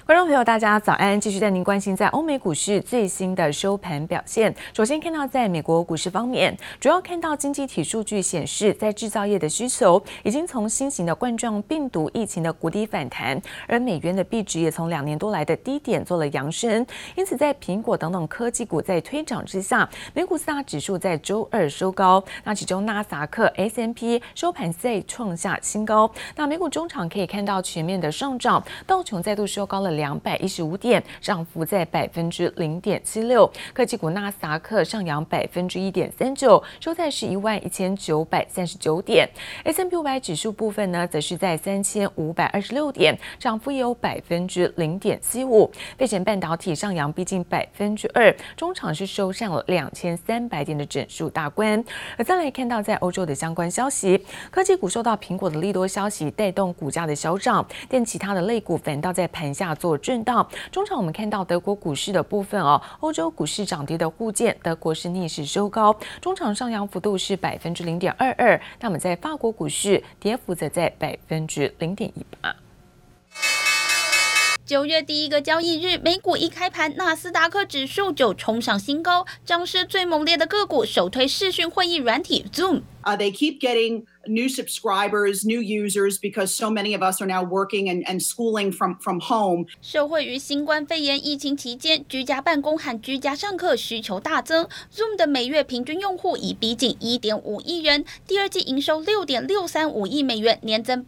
觀眾朋友，大家早安！繼續帶您關心在歐美股市最新的收盤表現。首先看到在美國股市方面，主要看到經濟體數據顯示，在製造業的需求已經從新型的冠狀病毒疫情的谷底反彈，而美元的幣值也從2年多來的低點做了揚升。因此，在蘋果等等科技股在推漲之下，美股4大指數在周二收高。那其中納斯達克、S&P 收盤再創下新高。那美股中場可以看到全面的上漲，道瓊再度收高了215點，漲幅在0.76%。科技股納斯達克上揚1.39%，收在11,939點。S&P 500指數部分呢，則是在3526點，漲幅也有0.75%。費城半導體上揚逼近2%，中場是收上了2300點的整數大關。而再來看到在歐洲的相關消息，科技股受到蘋果的利多消息帶動股價的小漲，但其他的類股反倒在盤下做震盪。中場我們看到德國股市的部分歐洲股市漲跌的互見，德國是逆勢收高，中場上揚幅度是0.22%，那麼在法國股市跌幅則在0.18%。 9月第一個交易日，美股一開盤，納斯達克指數就衝上新高，漲勢最猛烈的個股首推視訊會議軟體 Zoom。They keep getting new subscribers, new users, because so many of us are now working and schooling from home. 受惠於新冠肺炎疫情期間，居家辦公和居家上課需求大增 ，Zoom 的每月平均用戶已逼近1.5億人，第二季營收6.635億美元，年增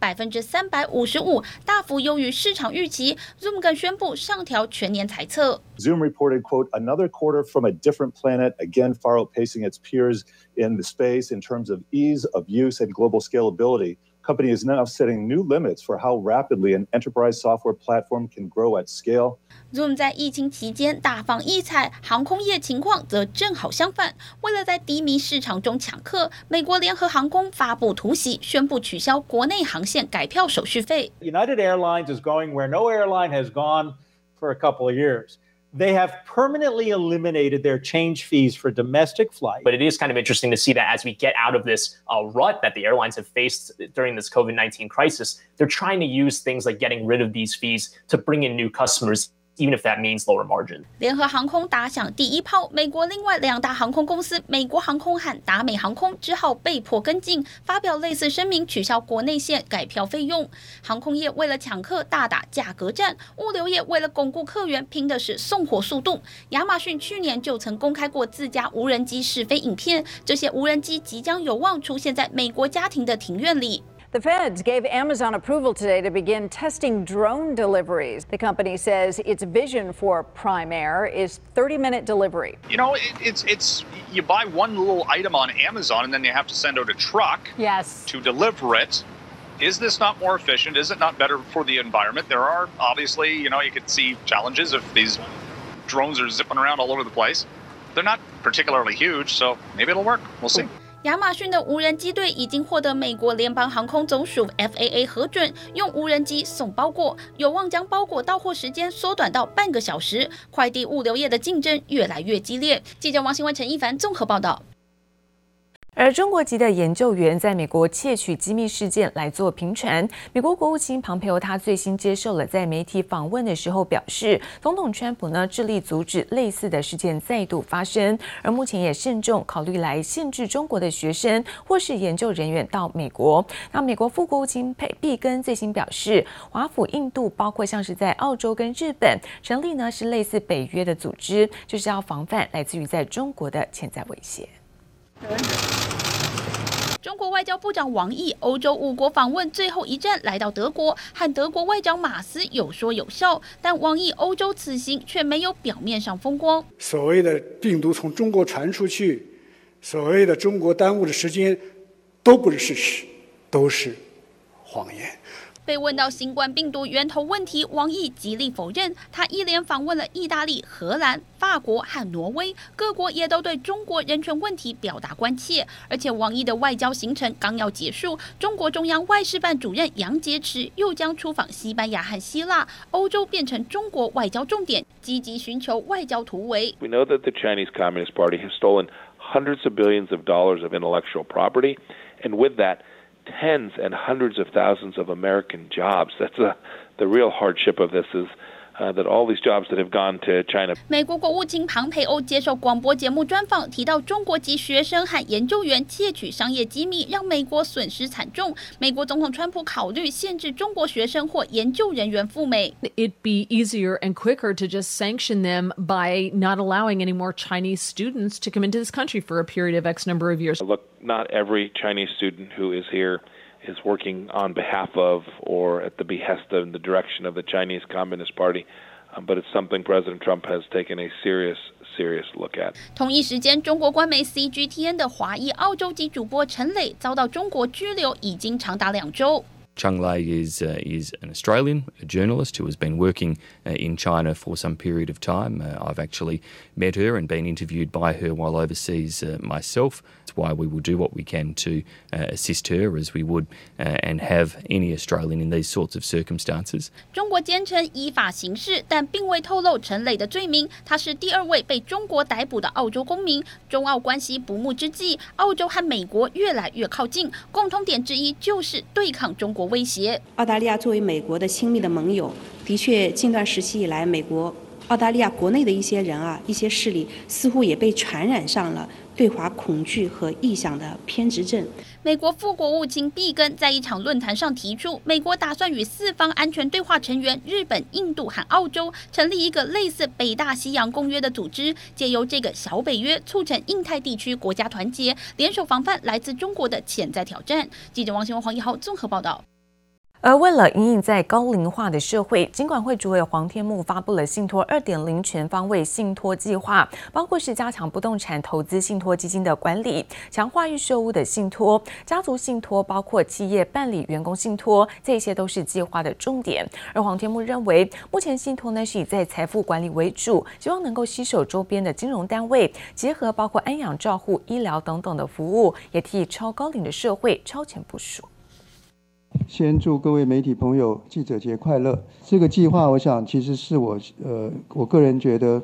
355%，大幅優於市場預期。Zoom 更宣布上調全年財測。 Zoom reported, quote, another quarter from a different planet, again far outpacing its peers in the space in terms of ease of use and global scalability. Company is now setting new limits for how rapidly an enterprise software platform can grow at scale. Zoom 在疫情期間大放異彩，航空業情況則正好相反。為了在低迷市場中搶客，美國聯合航空發布突襲，宣布取消國內航線改票手續費。 United Airlines is going where no airline has gone for a couple of years.They have permanently eliminated their change fees for domestic flights. But it is kind of interesting to see that as we get out of this rut that the airlines have faced during this COVID-19 crisis, they're trying to use things like getting rid of these fees to bring in new customers.Even if that means lower margin. 聯合航空打響第一炮，美國另外2大航空公司美國航空和達美航空只好被迫跟進，發表類似聲明，取消國內線改票費用。航空業為了搶客大打價格戰，物流業為了鞏固客源，拼的是送貨速度。亞馬遜去年就曾公開過自家無人機試飛影片，這些無人機即將有望出現在美國家庭的庭院裡。 The feds gave Amazon approval today to begin testing drone deliveries. The company says its vision for Prime Air is 30-minute delivery. You know, it's you buy one little item on Amazon and then you have to send out a truck to deliver it. Is this not more efficient? Is it not better for the environment? There are obviously, you could see challenges if these drones are zipping around all over the place. They're not particularly huge, so maybe it'll work. We'll see. 亞馬遜的無人機隊已經獲得美國聯邦航空總署 FAA 核准，用無人機送包裹，有望將包裹到貨時間縮短到半個小時。快遞物流業的競爭越來越激烈。記者王新文、陳一凡綜合報道。 而中國籍的研究員在美國竊取機密事件來做頻傳。美國國務卿龐培歐他最新接受了在媒體訪問的時候表示，總統川普呢致力阻止類似的事件再度發生，而目前也慎重考慮來限制中國的學生或是研究人員到美國。那美國副國務卿畢根最新表示，華府印度包括像是在澳洲跟日本成立呢是類似北約的組織，就是要防範來自於在中國的潛在威脅。 中國外交部長王毅歐洲5國訪問最後一站來到德國，和德國外長馬斯有說有笑，但王毅歐洲此行卻沒有表面上風光。 所謂的病毒從中國傳出去，所謂的中國耽誤的時間，都不是事實，都是謊言。 被問到新冠病毒源頭問題，王毅極力否認。他一連訪問了意大利、荷蘭、法國和挪威，各國也都對中國人權問題表達關切。而且王毅的外交行程剛要結束，中國中央外事辦主任楊潔篪又將出訪西班牙和希臘，歐洲變成中國外交重點，積極尋求外交突圍。 We know that the Chinese Communist Party has stolen hundreds of billions of dollars of intellectual property, and with that.Tens and hundreds of thousands of American jobs. That's the real hardship of this is that all these jobs that have gone to China. 美国国務卿龐培歐接受廣播節目專訪，提到中國籍學生和研究員竊取商業機密，讓美國損失慘重。美國總統川普考慮限制中國學生或研究人員赴美。 It'd be easier and quicker to just sanction them by not allowing any more Chinese students to come into this country for a period of X number of years. Look, not every Chinese student who is here is working on behalf of or at the behest of the direction of the Chinese Communist Party, but it's something President Trump has taken a serious look at. 同一時間，中國官媒 CGTN 的華裔澳洲籍主播陳磊遭到中國拘留，已經長達2週。 Cheng Lei is an Australian, a journalist who has been working in China for some period of time. I've actually met her and been interviewed by her while overseas myself. That's why we will do what we can to assist her as we would and have any Australian in these sorts of circumstances. 中國堅稱依法行事，但並未透露陳磊的罪名。他是第2位被中國逮捕的澳洲公民。中澳關係不睦之際，澳洲和美國越來越靠近，共通點之一就是對抗中國威脅。 澳大利亞作為美國的親密的盟友，的確近段時期以來，澳大利亞國內的一些人一些勢力似乎也被傳染上了對華恐懼和臆想的偏執症。 美國副國務卿畢根在一場論壇上提出，美國打算與4方安全對話成員日本、印度和澳洲成立一個類似北大西洋公約的組織，借由這個小北約促成印太地區國家團結，聯手防範來自中國的潛在挑戰。記者王新文、黃一豪綜合報道。 而為了因應在高齡化的社會，金管會主委黃天牧發布了信託 2.0 全方位信託計劃，包括是加強不動產投資信託基金的管理，強化預售屋的信託、家族信託，包括企業辦理員工信託，這些都是計劃的重點。而黃天牧認為，目前信託呢是以在財富管理為主，希望能夠攜手周邊的金融單位，結合包括安養照護、醫療等等的服務，也替超高齡的社會超前部署。 先祝各位媒體朋友記者節快樂。這個計劃，我想其實是我個人覺得，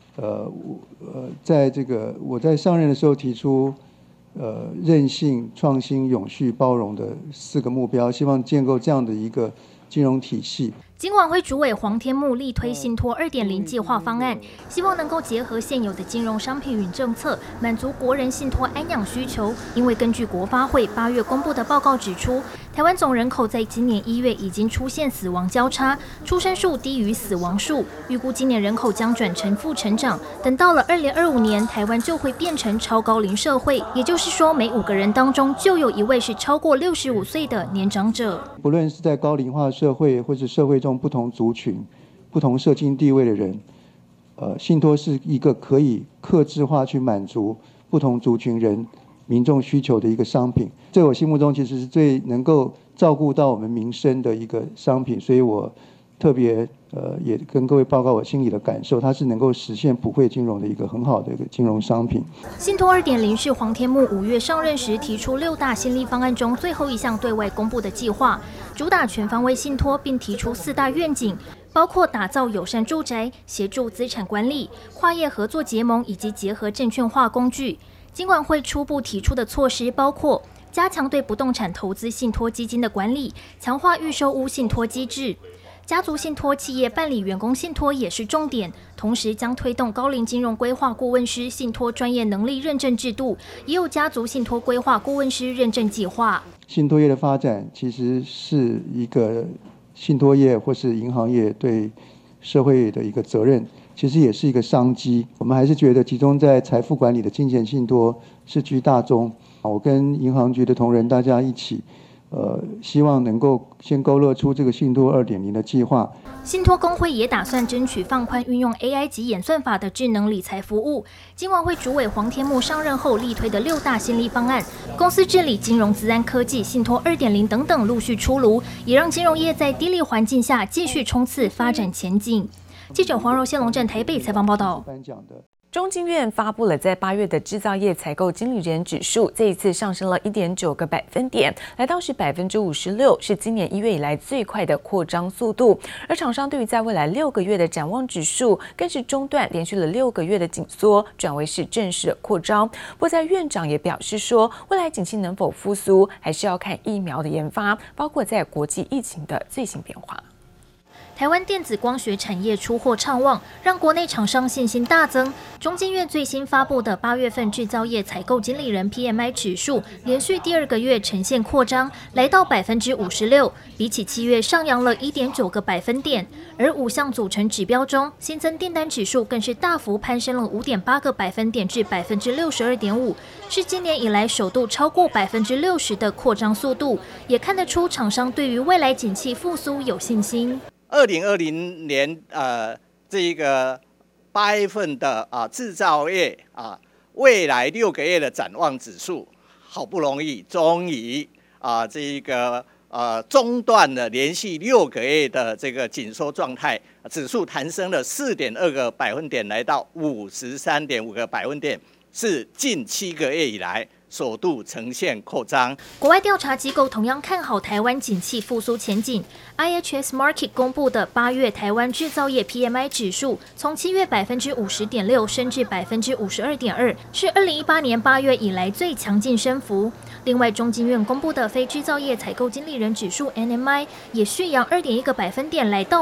在這個我在上任的時候提出，韌性、創新、永續、包容的4個目標，希望建構這樣的一個金融體系。 金管會主委黃天牧力推信託 2.0 計劃方案，希望能夠結合現有的金融商品與政策，滿足國人信託安養需求。因為根據國發會8月公布的報告指出，台灣總人口在今年1月已經出現死亡交叉，出生數低於死亡數，預估今年人口將轉成負成長。等到了2025年，台灣就會變成超高齡社會，也就是說，每5個人當中就有1位是超過65歲的年長者。 不論是在高齡化社會，或是社會中不同族群、不同社經地位的人，信託是一個可以客製化去滿足不同族群人民眾需求的一個商品。在我心目中，其實是最能夠照顧到我們民生的一個商品，所以我特別也跟各位報告我心裡的感受，它是能夠實現普惠金融的一個很好的一個金融商品。 信託 2.0 是黃天牧5月上任時提出6大新力方案中最後一項對外公布的計劃，主打全方位信託，並提出4大願景，包括打造友善住宅、協助資產管理、跨業合作結盟以及結合證券化工具。金管會初步提出的措施包括加強對不動產投資信託基金的管理，強化預售屋信託機制。家族信託、企業辦理員工信託也是重點，同時將推動高齡金融規劃顧問師信託專業能力認證制度，也有家族信託規劃顧問師認證計劃。 信託業的發展其實是一個信託業或是銀行業對社會的一個責任，其實也是一個商機。我們還是覺得集中在財富管理的金錢信託是居大宗。我跟銀行局的同仁大家一起希望能夠先勾勒出這個信託 2.0 的計劃。 信託公會也打算爭取放寬運用 AI 及演算法的智能理財服務。金管會主委黃天牧上任後力推的6大新力方案，公司治理、金融資安科技、信託 2.0 等等陸續出爐，也讓金融業在低利環境下繼續衝刺發展前景。記者黃柔、謝龍鎮台北採訪報道。 中經院發布了在8月的製造業採購經理人指數，這一次上升了1.9個百分點，來到是56%，是今年1月以來最快的擴張速度。而廠商對於在未來6個月的展望指數，更是中斷連續了6個月的緊縮，轉為是正式的擴張。不過在院長也表示說，未來景氣能否復甦，還是要看疫苗的研發，包括在國際疫情的最新變化。 台灣電子光學產業出貨暢旺，讓國內廠商信心大增。中經院最新發布的8月份製造業採購經理人 PMI 指數，連續第2個月呈現擴張，來到 56%， 比起7月上揚了 1.9個百分點。而5項組成指標中，新增訂單指數更是大幅攀升了 5.8個百分點至 62.5%， 是今年以來首度超過 60% 的擴張速度，也看得出廠商對於未來景氣復甦有信心。 2020年這個8月份的製造業未來6個月的展望指數，好不容易終於這個中斷了連續6個月的這個緊縮狀態，指數彈升了4.2個百分點，來到53.5個百分點，是近7個月以來首度呈現擴張。 國外調查機構同樣看好台灣景氣復甦前景。IHS Markit 公布的8月台灣製造業 PMI 指數，從7月 50.6% 升至 52.2%， 是2018年8月以來最強勁升幅。另外，中經院公布的非製造業採購經理人指數 NMI 也續揚 2.1個百分點，來到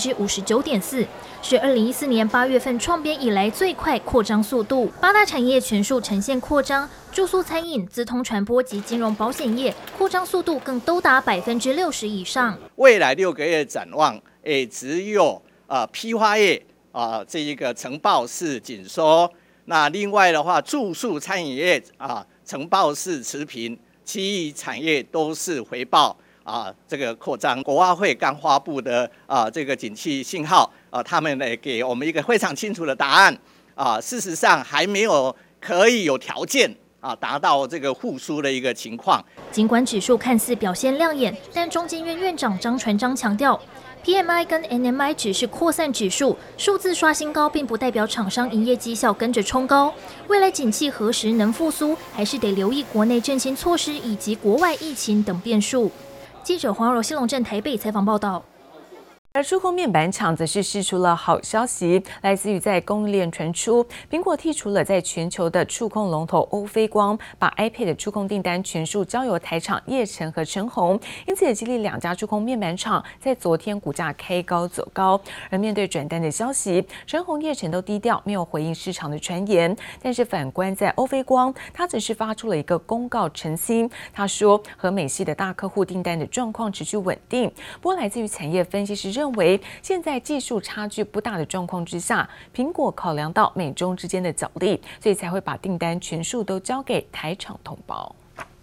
59.4%， 是2014年8月份創編以來最快擴張速度。8大產業全數呈現擴張。住宿、餐飲、資通傳播及金融保險業擴張速度更都達60%以上。 未來6個月展望，也只有批發業這一個呈報式緊縮。那另外的話，住宿、餐飲業呈報式持平，其餘產業都是回報這個擴張。國發會剛發布的這個景氣信號他們呢給我們一個非常清楚的答案事實上還沒有可以有條件達到這個復甦的一個情況。 儘管指數看似表現亮眼，但中經院院長張傳章強調 ，PMI 跟 NMI 只是擴散指數，數字刷新高，並不代表廠商營業績效跟着衝高。未來景氣何時能復甦，還是得留意國內振興措施以及國外疫情等變數。記者黃柔、西龍鎮台北採訪報道。 而觸控面板廠則是釋出了好消息，來自於在供應鏈傳出，蘋果剔除了在全球的觸控龍頭歐菲光，把 iPad 的觸控訂單全數交由台廠業成和成鴻，因此也激勵2家觸控面板廠在昨天股價開高走高。而面對轉單的消息，成鴻、業成都低調，沒有回應市場的傳言。但是反觀在歐菲光，他只是發出了一個公告澄清，他說和美系的大客戶訂單的狀況持續穩定。不過來自於產業分析師認為，現在技術差距不大的狀況之下，蘋果考量到美中之間的角力，所以才會把訂單全數都交給台廠統包。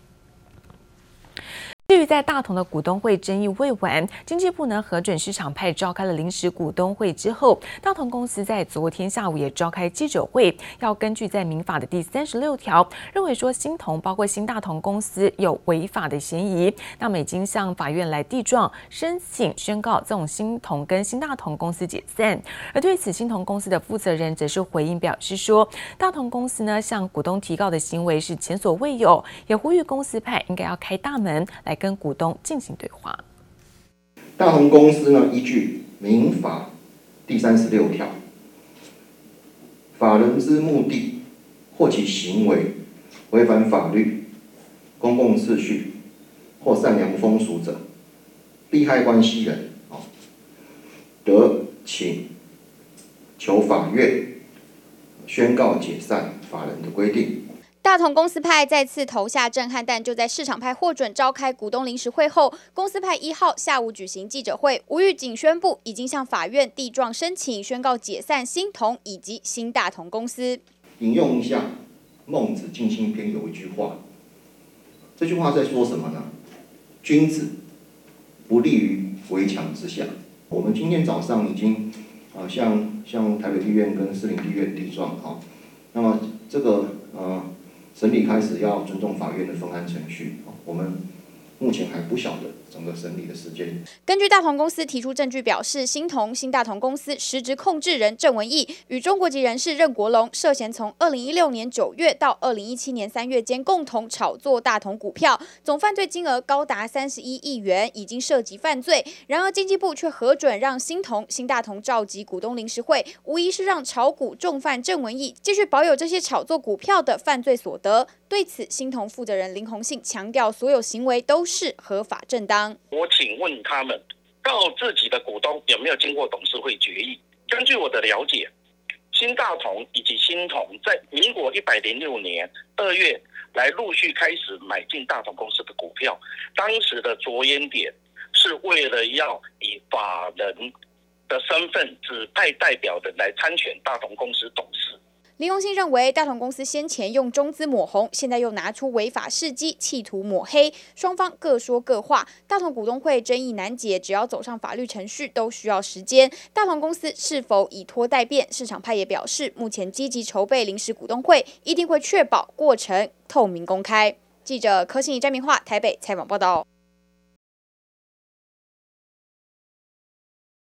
至於在大同的股東會爭議未完，經濟部呢核准市場派召開了臨時股東會之後，大同公司在昨天下午也召開記者會，要根據在民法的第36條，認為說新同包括新大同公司有違法的嫌疑，那麼已經向法院來遞狀申請宣告這種新同跟新大同公司解散。而對此，新同公司的負責人則是回應表示說，大同公司呢向股東提告的行為是前所未有，也呼籲公司派應該要開大門來跟股東進行對話。 大同公司呢，依據民法第36條，法人之目的或其行為違反法律、公共秩序或善良風俗者，利害關係人得請求法院宣告解散法人的規定。 大同公司派再次投下震撼彈，就在市場派獲准召開股東臨時會後，公司派1號下午舉行記者會，無預警宣布已經向法院遞狀申請宣告解散新同以及新大同公司。 引用一下《孟子盡心篇》有一句話，這句話在說什麼呢？君子不立於圍牆之下。我們今天早上已經向台北地院跟士林地院遞狀，那麼這個審理開始要尊重法院的分案程序，我們目前還不曉得整個審理的時間。 根據大同公司提出證據表示，新大同公司實質控制人鄭文義與中國籍人士任國龍涉嫌從2016年9月到2017年3月間共同炒作大同股票，總犯罪金額高達31億元，已經涉及犯罪。然而經濟部卻核准讓新大同召集股東臨時會，無疑是讓炒股重犯鄭文義繼續保有這些炒作股票的犯罪所得。對此，新同負責人林鴻信強調，所有行為都是合法正當。 我請問他們， 到自己的股東有沒有經過董事會決議。根據我的了解，新大同以及新銅在民國106年2月來陸續開始買進大同公司的股票，當時的着眼點是為了要以法人的身份指派代表人來參選大同公司董事。 林榮興認為，大同公司先前用中資抹紅，現在又拿出違法事蹟，企圖抹黑，雙方各說各話。大同股東會爭議難解，只要走上法律程序都需要時間。大同公司是否以拖待變？市場派也表示，目前積極籌備臨時股東會，一定會確保過程透明公開。記者柯信怡、詹明化台北採訪報道。